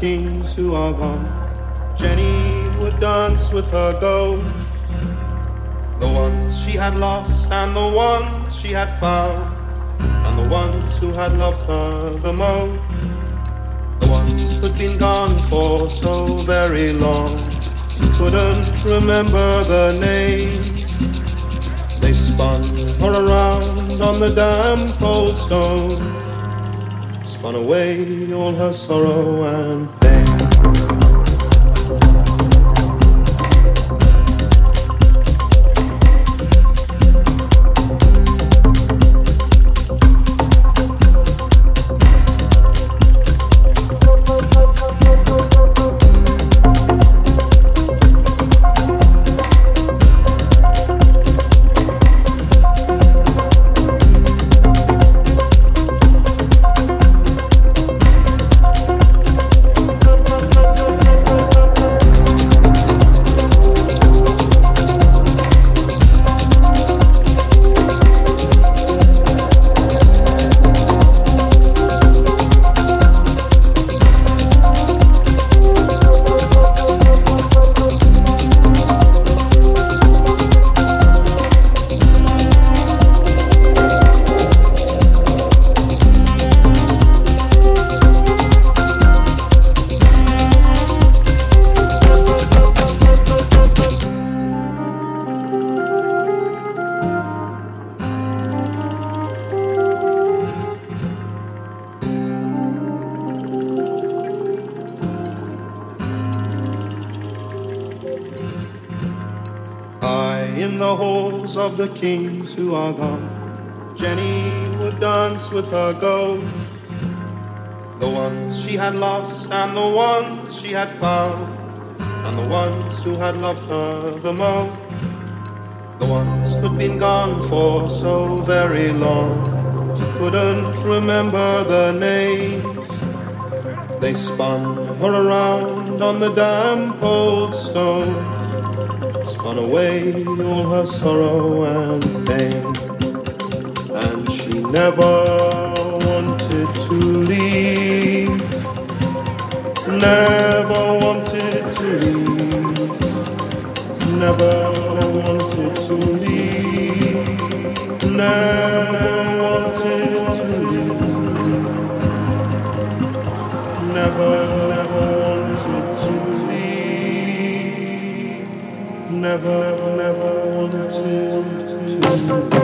kings who are gone. Jenny would dance with her gold, the ones she had lost and the ones she had found, and the ones who had loved her the most, the ones who'd been gone for so very long, couldn't remember the name. They spun her around on the damp old stone, spun away all her sorrow and pain. In the halls of the kings who are gone, Jenny would dance with her gold, the ones she had lost and the ones she had found, and the ones who had loved her the most, the ones who'd been gone for so very long, she couldn't remember the names. They spun her around on the damp old stone, spun away all her sorrow and pain, and she never wanted to leave, never wanted to leave, never wanted to leave, never wanted to leave, never wanted to leave, never wanted to